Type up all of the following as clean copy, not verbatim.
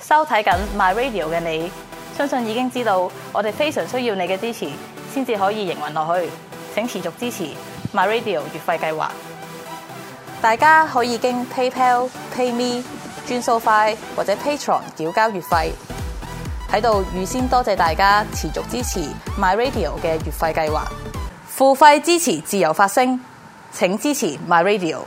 收睇緊 My Radio 嘅你，相信已經知道我哋非常需要你嘅支持，先至可以營運落去。請持續支持 My Radio 月費計劃。大家可以經 PayPal、PayMe、轉數快或者 Patreon 繳交月費。喺度預先多謝大家持續支持 My Radio 嘅月費計劃。付費支持自由發聲，請支持 My Radio。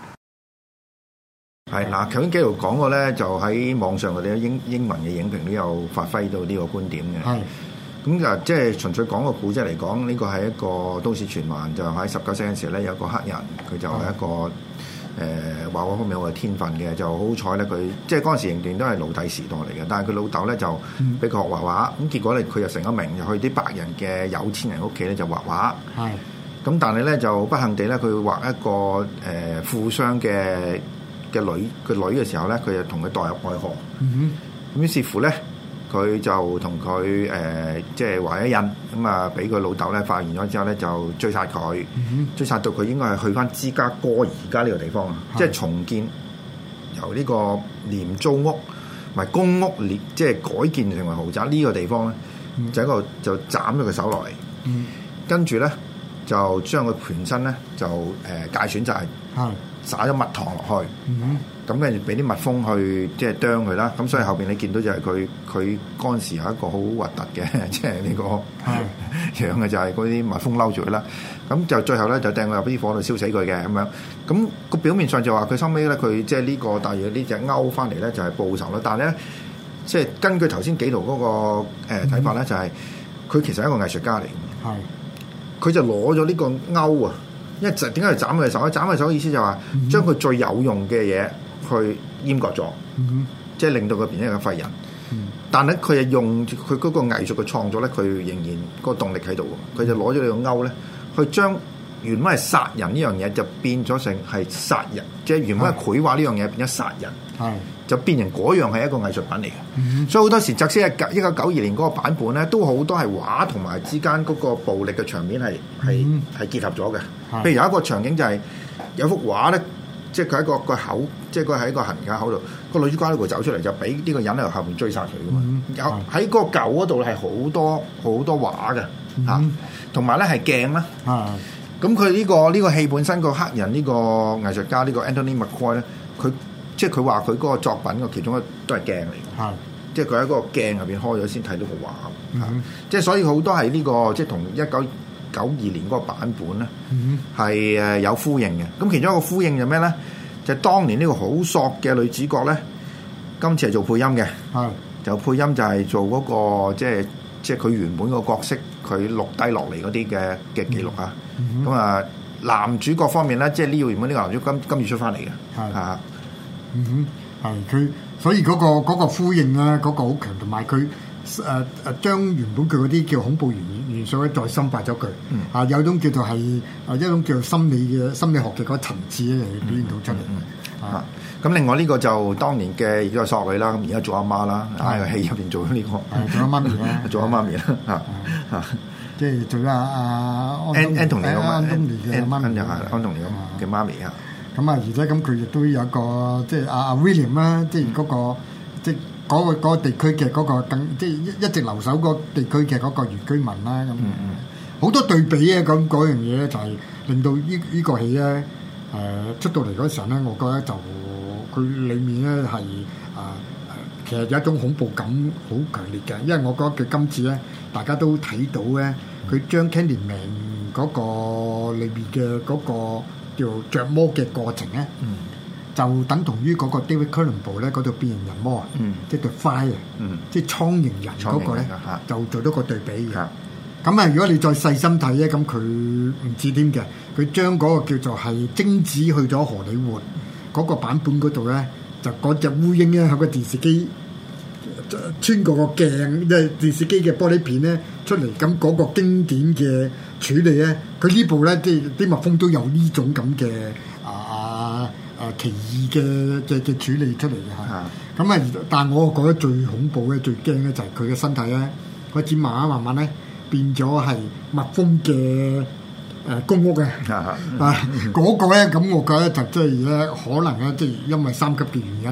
係嗱，頭先紀陶講過咧，就喺網上嗰啲英文嘅影評都有發揮到呢個觀點嘅。係咁就即係純粹講個古仔嚟講，呢個係一個都市傳聞，就喺19世嘅時候咧，有個黑人佢就係一個畫畫方面好有天分嘅，就好彩咧佢即係嗰陣時仍然都係奴隸時代嚟嘅，但係佢老豆咧就俾佢學畫畫，咁結果咧佢就成咗名，就去啲白人嘅有錢人屋企咧就畫畫。係咁，但係咧就不幸地咧，佢畫一個富商嘅女嘅時候咧，佢就同佢墮入愛河。咁於是乎咧，佢就同佢即係畫一印，咁啊俾佢老豆咧發現咗之後咧，就追殺佢，追殺到佢應該係去翻芝加哥而家呢個地方啊，即係重建由呢個廉租屋同埋公屋即係改建成為豪宅呢個地方咧，就一個就斬咗佢手落嚟，跟住咧就將佢全身咧就界損晒。灑咗蜜糖落去，咁跟住俾啲蜜蜂去即係啄佢啦。咁所以後邊你見到就係佢嗰陣時有一個好核突嘅，即係呢個樣嘅就係嗰啲蜜蜂嬲住佢啦。咁就最後咧就掟佢入啲火度燒死佢嘅咁樣。咁個表面上就話佢收尾咧佢即係呢個大約呢隻勾翻嚟咧就係報仇啦。但係咧即係根據頭先紀陶嗰個睇法咧，就係佢其實係一個藝術家嚟嘅。佢就攞咗呢個勾啊！因為點解要斬佢手咧？斬佢手嘅意思就係話將佢最有用嘅嘢去閹割咗，即係令到佢變成一個廢人。但係佢係用佢嗰個藝術嘅創作咧，佢仍然個動力喺度。佢就攞咗呢個勾咧，去將原本係殺人呢樣嘢就變咗成係殺人，即係原本係繪畫呢樣嘢變咗殺人，就變成嗰樣係一個藝術品嚟嘅。所以好多時，即使係1992年嗰個版本咧，都好多係畫同埋之間嗰個暴力嘅場面係結合咗嘅。譬如有一個場景就係有幅畫咧，即係佢喺個口，即係佢喺個行人口度，個女主角喺度走出嚟，就俾呢個人喺後面追殺佢噶嘛。有喺個舊嗰度係好多畫嘅嚇，同埋咧係鏡啦。咁佢呢個戲本身個黑人呢個藝術家呢個 Anthony McCoy 咧，佢即係佢話佢嗰個作品嘅其中一個都係鏡嚟嘅，即係佢喺嗰個鏡入邊開咗先睇到個畫。即係所以好多係呢個即係同1992年嗰個版本咧係有呼應嘅。咁其中一個呼應就咩咧？就係當年呢個好索嘅女主角咧，今次係做配音嘅，就配音就係做嗰個即係佢原本個角色佢錄低落嚟嗰啲嘅記錄啊。咁啊，男主角方面咧，即係呢個原本呢個男主角今次出翻嚟嘅， 係佢，所以嗰個呼應咧，嗰個好強，同埋佢將原本佢嗰啲叫恐怖元素咧再深化咗佢，有種叫做係一種叫做心理學嘅嗰個層次咧嚟表現到出嚟。 咁另外呢個就當年嘅而家索女啦，咁而家做阿媽啦，喺個戲入邊做咗呢個， 做阿媽咪啦， 做阿媽咪啦， 即係做咗阿安東尼嘅安東尼嘅媽咪， 安東尼嘅媽咪啊。 咁啊，而且咁佢亦都有一個即係阿 William 啦，即係嗰個即係嗰個地區嘅嗰個即係一直留守嗰個地區嘅嗰個原居民啦。咁好多對比啊！咁嗰樣嘢咧就係令到呢個戲咧出到嚟嗰時候咧，我覺得就佢裡面咧係其實有一種恐怖感好強烈嘅，因為我覺得佢今次咧大家都睇到咧，佢將 Candyman 嗰個裏面嘅嗰個叫着魔嘅過程咧，就等同於嗰個 David Cronenberg 咧嗰度變形人魔啊，即係 The Fly 啊，即係蒼蠅人嗰個咧，就做咗個對比嘅。咁啊，如果你再細心睇咧，咁佢唔知添嘅，佢將嗰個叫做係精子去咗荷里活嗰個版本嗰度咧，就嗰隻烏蠅咧喺個電視機穿過個鏡，即係電視機嘅玻璃片咧出嚟，咁嗰個經典嘅處理咧，佢呢部咧即係啲蜜蜂都有呢種咁嘅奇異嘅處理出嚟嘅嚇。咁啊，但係我覺得最恐怖咧、最驚咧就係佢嘅身體咧開始慢慢咧變咗係蜜蜂嘅公屋嘅嗰個咧，咁我覺得就即係咧可能咧即係因為3級嘅原因咧，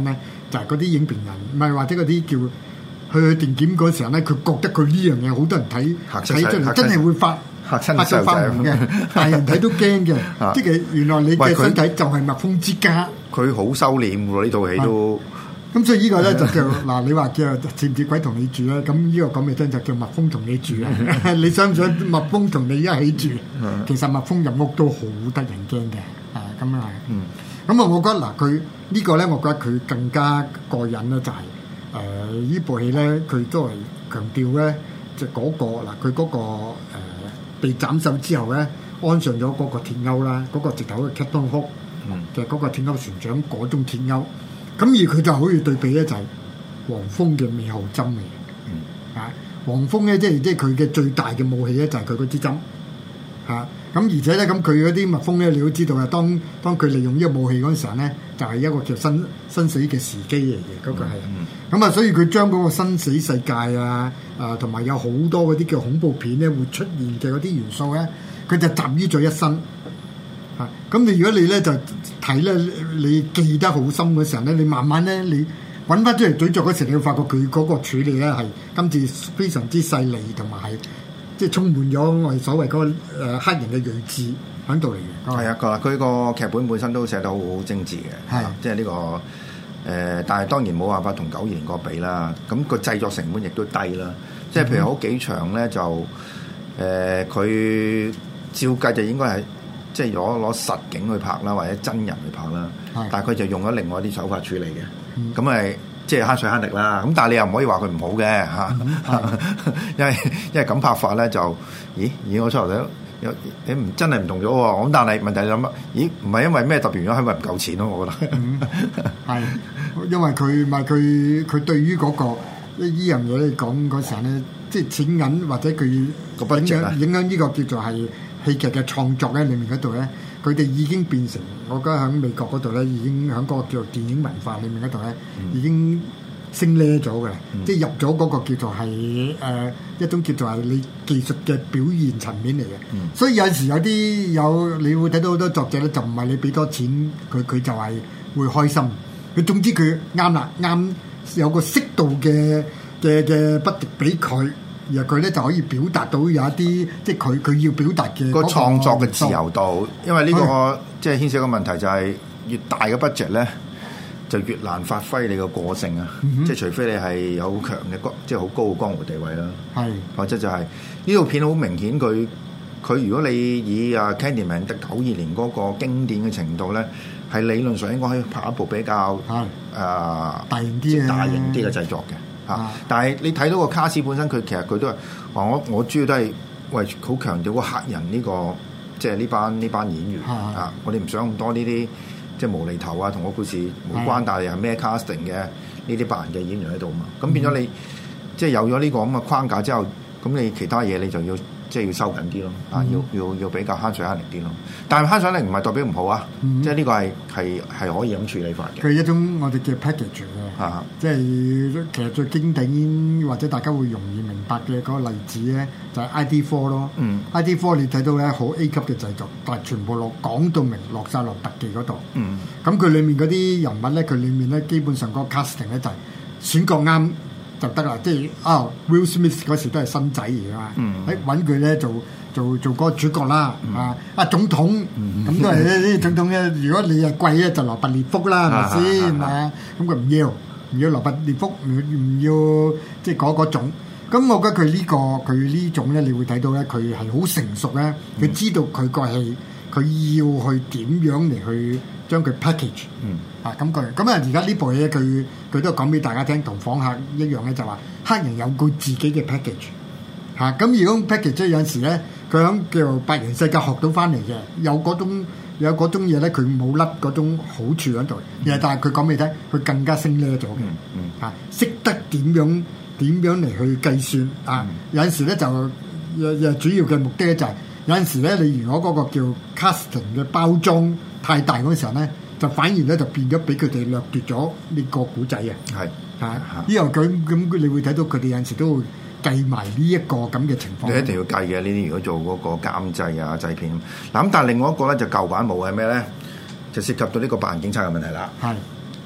就係嗰啲影評人，唔係或者嗰啲叫去電檢嗰時候咧，佢覺得佢呢樣嘢好多人睇出嚟，真係會發到發夢嘅，大人睇都驚嘅。即係原來你嘅身體就係蜜蜂之家。 佢好收斂喎，呢套戲都。 咁所以呢個咧就叫嗱，你話叫似唔似鬼同你住咧？咁呢個講嘅真就叫蜜蜂同你住啊！你想唔想蜜蜂同你一起住？其實蜜蜂入屋都好得人驚嘅，咁樣係。咁啊，我覺得嗱，佢呢個咧，我覺得佢更加過癮咧，就係呢部戲咧，佢都係強調咧，就嗰個嗱，佢嗰個被斬首之後咧，安上咗嗰個鐵鈎啦，嗰個直頭嘅 Captain Hook 嘅嗰個鐵鈎船長嗰種鐵鈎。咁而佢就好似對比咧，就係黃蜂嘅尾號針嚟嘅。黃蜂咧，即係佢嘅最大嘅武器咧，就係佢嗰支針。咁而且咧，咁佢嗰啲蜜蜂咧，你都知道啊。當佢利用呢個武器嗰陣時候咧，就係一個叫生死嘅時機嚟嘅，嗰個係。咁啊，所以佢將嗰個生死世界啊，同埋有好多嗰啲叫恐怖片咧會出現嘅嗰啲元素咧，佢就集於咗一身。咁你如果你咧就睇咧，你記得好深嘅時候咧，你慢慢咧你揾翻出嚟咀嚼嗰時，你會發覺佢嗰個處理咧係今次非常之細膩，同埋係即係充滿咗我哋所謂嗰個黑人嘅睿智喺度嚟嘅。 係啊，佢個劇本本身都寫得好精緻嘅，即係呢個但係當然冇辦法同92年嗰個比啦。咁個製作成本亦都低啦。即係譬如好幾場咧就佢照計就應該係。即係攞實景去拍啦，或者真人去拍啦，但係佢就用咗另外啲手法處理嘅，咁咪即係慳水慳力啦。咁但係你又唔可以話佢唔好嘅嚇，因為咁拍法咧就，咦我出嚟有你唔真係唔同咗喎。咁但係問題諗乜？咦唔係因為咩特別原因，係咪唔夠錢咯？我覺得係因為佢對於嗰個呢樣嘢嚟講嗰時候咧，即係錢銀或者佢影響呢個叫做係。戲劇嘅創作咧，裏面嗰度咧，佢哋已經變成，我覺得喺美國嗰度咧，已經喺嗰個叫做電影文化裏面嗰度咧，已經升呢咗嘅，即係入咗嗰個叫做係一種叫做係你技術嘅表現層面嚟嘅。所以有時有你會睇到好多作者咧，就唔係你俾多錢佢就係會開心。佢總之佢啱啦，啱有個適度嘅不敵俾佢。而佢咧就可以表達到有一啲，即係佢要表達嘅個創作嘅自由度，因為呢個即係牽涉個問題就係越大嘅 budget 咧，就越難發揮你個個性啊！即係除非你係有好強嘅即係好高嘅江湖地位啦，或者就係呢套片好明顯佢如果你以Candyman 92年嗰個經典嘅程度咧，係理論上應該可以拍一部比較大型啲嘅製作嘅。但係你睇到個卡士本身，佢其實佢都係話我主要都係好強調個客人呢個即係呢班演員我哋唔想咁多呢啲即係無厘頭同個故事冇關，但係係咩 casting 嘅呢啲白人嘅演員喺度嘛，咁變咗你即係有咗呢個咁嘅框架之後，咁你其他嘢你就要即係要收緊啲咯，要比較慳水慳力啲咯。但係慳水慳力唔係代表唔好啊，即係呢個係可以咁處理法嘅。 佢係一種我哋叫 package 嘅，即係其實最經典或者大家會容易明白嘅嗰個例子咧，就係 ID4 咯。ID4 你睇到咧好 A 級嘅製作，但係全部講到明落晒落特技嗰度。咁佢裡面嗰啲人物咧，佢裡面咧基本上嗰個 casting 咧就係選角啱就得啦，即係Will Smith 嗰時都係新仔嚟㗎嘛，揾佢咧做嗰個主角啦，總統咁都係呢總統咧。如果你係貴咧，就羅拔列福啦，係咪先啊？咁佢唔要羅拔列福，唔要即係嗰種。咁我覺得佢呢種咧，你會睇到咧，佢係好成熟咧，佢知道佢個戲，佢要去點樣嚟去將佢 package。咁而家呢部戲咧，佢都講俾大家聽，同訪客一樣咧，就話黑人有佢自己嘅 package。咁如果 package 有陣時咧，佢響叫白人世界學到翻嚟嘅，有嗰種嘢咧，佢冇甩嗰種好處喺度。但係佢講俾你聽，佢更加升呢咗嘅。識得點樣嚟去計算有陣時咧就主要嘅目的咧就係有陣時咧，你如果嗰個叫 casting 嘅包裝太大嗰陣時候咧，就反而咧就變咗俾佢哋掠奪咗呢個古仔啊！呢樣咁你會睇到佢哋有陣時都會計埋呢一個咁嘅情況。你一定要計嘅呢啲，如果做嗰個監製製片嗱咁，但係另外一個咧就舊版冇係咩咧？就涉及到呢個白人警察嘅問題啦。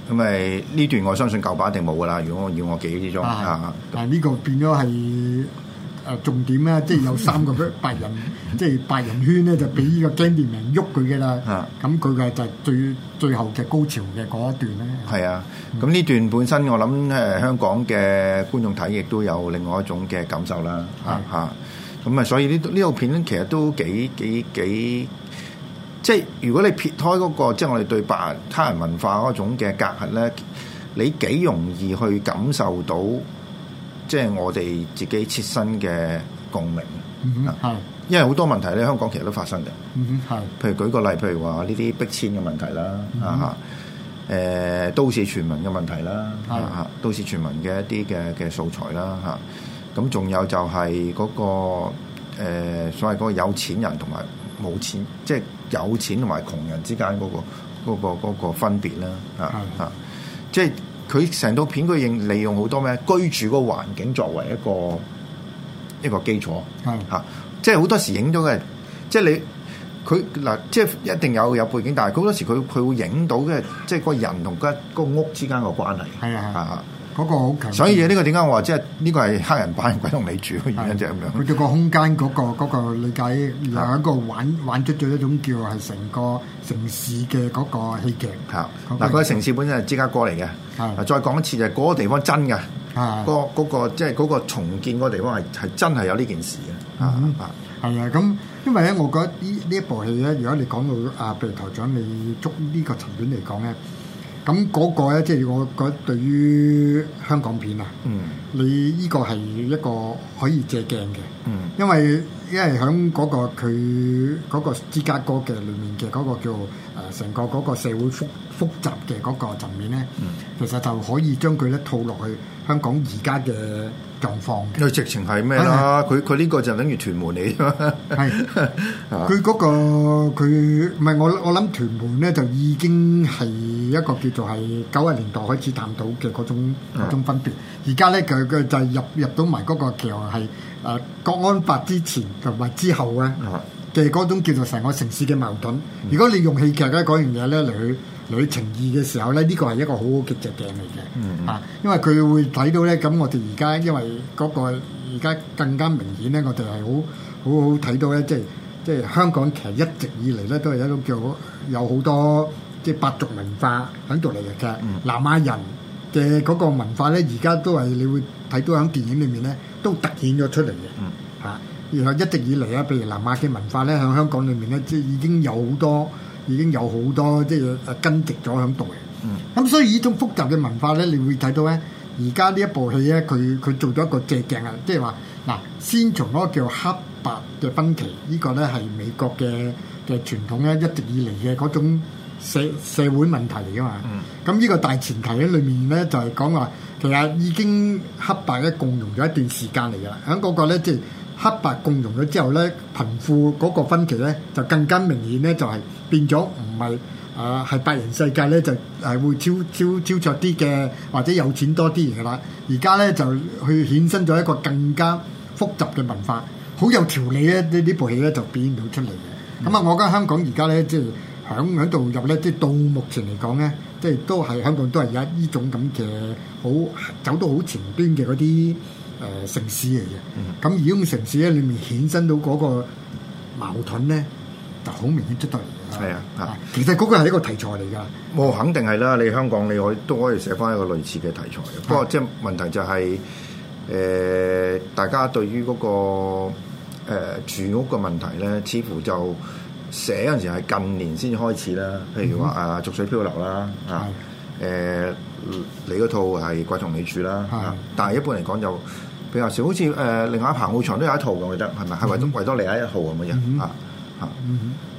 咁咪呢段我相信舊版一定冇噶啦。如果我要我記憶之中但係呢個變咗係重點咧，即係有3個白人，即係白人圈咧就俾呢個 Candyman 喐佢嘅啦。咁佢嘅就係最後嘅高潮嘅嗰一段咧。係啊， 咁呢段本身我諗香港嘅觀眾睇亦都有另外一種嘅感受啦。咁所以呢套片其實都幾即係如果你撇開嗰個即係我哋對他人文化嗰種嘅隔閡咧，你幾容易去感受到即係我哋自己切身嘅共鳴。因為好多問題咧，香港其實都發生嘅。譬如舉個例，譬如話呢啲逼遷嘅問題啦，都市傳聞嘅問題啦，都市傳聞嘅一啲嘅素材啦，咁仲有就係嗰個所謂嗰個有錢人同埋冇錢，即係有錢同埋窮人之間嗰個分別啦，即係佢成套片佢利用好多咩居住嗰個環境作為一個基礎，即係好多時影咗嘅，即係佢嗱，即係一定有背景，但係好多時佢會影到嘅，即係個人同個屋之間個關係，嗰個好強。所以呢個點解我話即係呢個係黑人版鬼同你住嘅原因就係咁樣。佢對個空間嗰個理解有一個玩出咗一種叫係成個城市嘅嗰個戲劇。嗱，個城市本身係芝加哥嚟嘅。再講一次就係嗰個地方真嘅。嗰個即係嗰個重建嗰個地方係真係有呢件事嘅。係啊，咁因為咧，我覺得呢一部戲咧，如果你講到譬如台長你捉呢個層面嚟講咧。咁嗰個咧，即係我覺得對於香港片啊，你呢個係一個可以借鏡嘅，因為喺嗰個佢嗰個芝加哥嘅裏面嘅嗰個叫成個嗰個社會複雜嘅嗰個層面咧，其實就可以將佢咧套落去香港而家嘅狀況嘅。佢直情係咩啦？佢呢個就等於屯門嚟㗎。係佢嗰個佢唔係我諗屯門咧就已經係一個叫做係90年代開始探討嘅嗰種分別。而家咧佢就係入到埋嗰個叫係國安法之前同埋之後咧嘅嗰種叫做成個城市嘅矛盾。如果你用戲劇咧嗰樣嘢咧嚟去呈現嘅時候咧，呢個係一個好好嘅借鏡嚟嘅。因為佢會睇到咧，咁我哋而家因為嗰個而家更加明顯咧，我哋係好睇到咧，即係香港其實一直以嚟咧都係一種叫有好多即係百族文化喺度嚟嘅。南亞人嘅嗰個文化咧，而家都係你會睇到喺電影裏面咧都突顯咗出嚟嘅。然後一直以嚟啊，譬如南亞嘅文化咧，喺香港裏面咧，即係已經有好多即係根植咗喺度嘅。咁所以呢種複雜嘅文化咧，你會睇到咧，而家呢一部戲咧，佢做咗一個借鏡啊，即係話嗱，先從嗰個叫黑白嘅分歧，呢個咧係美國嘅傳統咧，一直以嚟嘅嗰種社會問題嚟噶嘛。咁呢個大前提喺裏面咧，就係講話其實已經黑白咧共融咗一段時間嚟噶啦，喺嗰個咧即係黑白共融咗之後咧，貧富嗰個分歧咧就更加明顯咧，就係變咗唔係係白人世界咧就係會超卓啲嘅，或者有錢多啲嘅啦。而家咧就去衍生咗一個更加複雜嘅文化，好有條理咧。呢部戲咧就表現到出嚟嘅。咁我覺得香港而家咧即係喺度入咧，即係到目前嚟講咧，即係都係香港都係有呢種咁嘅好走到好前端嘅嗰啲城市嚟嘅。咁而呢種城市咧裏面衍生到嗰個矛盾咧，就好明顯出到嚟。係啊，其實嗰個係一個題材嚟㗎。我肯定係啦，你香港你都可以寫翻一個類似嘅題材。不過即係問題就係大家對於嗰個住屋嘅問題咧，似乎就寫嗰陣時係近年先至開始啦。譬如話逐水漂流啦，你嗰套係鬼同你住啦，但係一般嚟講就比較少。好似另外彭浩翔都有一套嘅，我記得係咪？係維多利亞一號咁嘅嘢。